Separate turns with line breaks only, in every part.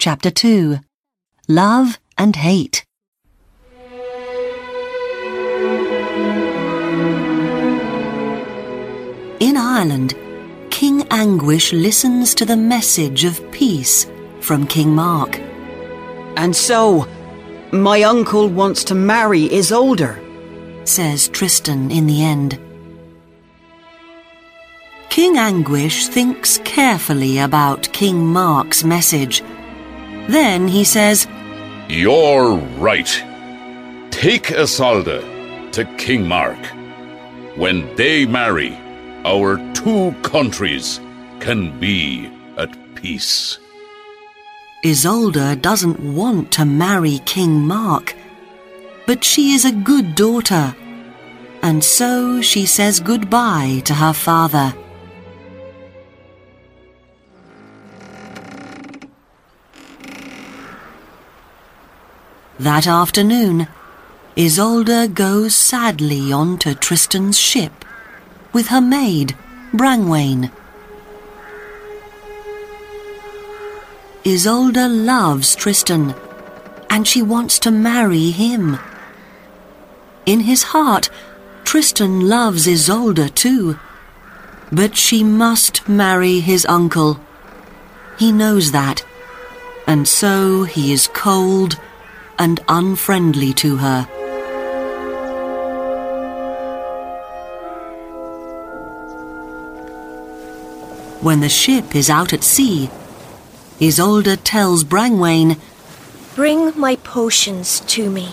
Chapter 2. Love and Hate. In Ireland, King Anguish listens to the message of peace from King Mark.
And so, my uncle wants to marry Isolde,
says Tristan in the end. King Anguish thinks carefully about King Mark's message. Then he says,
"You're right. Take Isolde to King Mark. When they marry, our two countries can be at peace."
Isolde doesn't want to marry King Mark, but she is a good daughter, and so she says goodbye to her father. That afternoon, Isolde goes sadly onto Tristan's ship with her maid, Brangwain. Isolde loves Tristan, and she wants to marry him. In his heart, Tristan loves Isolde too, but she must marry his uncle. He knows that, and so he is cold and unfriendly to her. When the ship is out at sea, Isolde tells Brangwain,
"Bring my potions to me."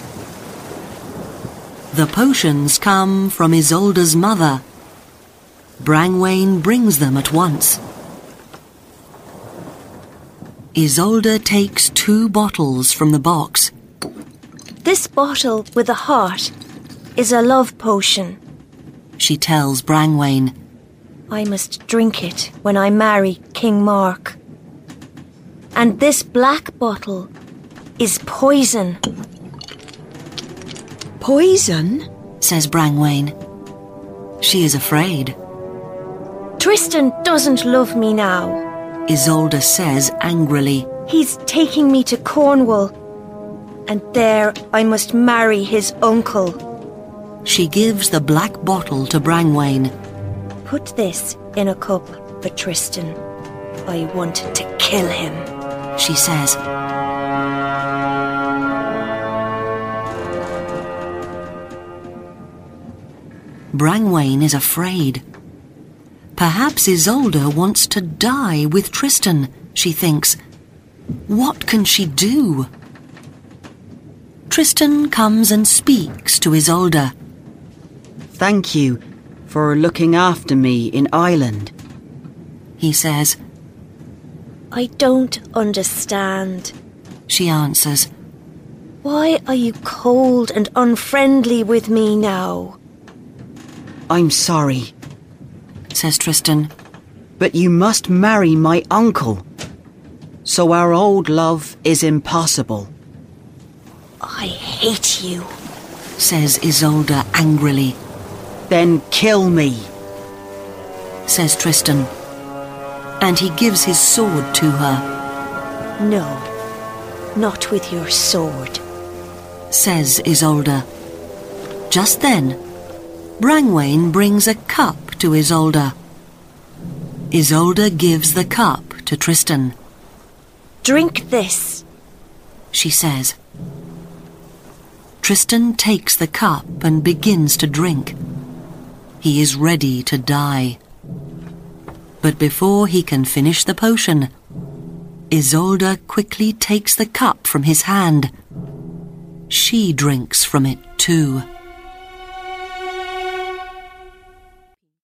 The potions come from Isolde's mother. Brangwain brings them at once. Isolde takes 2 bottles from the box.
"This bottle with a heart is a love potion.
She tells Brangwain.
I must drink it when I marry King Mark. And this black bottle is poison."
Poison?
Says Brangwain. She is afraid.
"Tristan doesn't love me now.
Isolde says angrily.
He's taking me to Cornwall, and there I must marry his uncle."
She gives the black bottle to Brangwain.
"Put this in a cup for Tristan. I want to kill him,"
she says. Brangwain is afraid. Perhaps Isolde wants to die with Tristan, she thinks. What can she do? Tristan comes and speaks to Isolde.
"Thank you for looking after me in Ireland,"
he says.
"I don't understand,"
she answers.
"Why are you cold and unfriendly with me now?"
"I'm sorry,"
says Tristan.
"but you must marry my uncle. So our old love is impossible."
"I hate you,"
says Isolde angrily.
"Then kill me,"
says Tristan, and he gives his sword to her.
"No, not with your sword,"
says Isolde. Just then, Brangwain brings a cup to Isolde. Isolde gives the cup to Tristan.
"Drink this,"
she says. Tristan takes the cup and begins to drink. He is ready to die. But before he can finish the potion, Isolde quickly takes the cup from his hand. She drinks from it too.